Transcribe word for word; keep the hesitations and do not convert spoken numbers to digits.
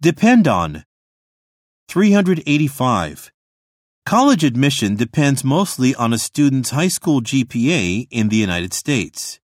Depend on. three hundred eighty-five. College admission depends mostly on a student's high school G P A in the United States.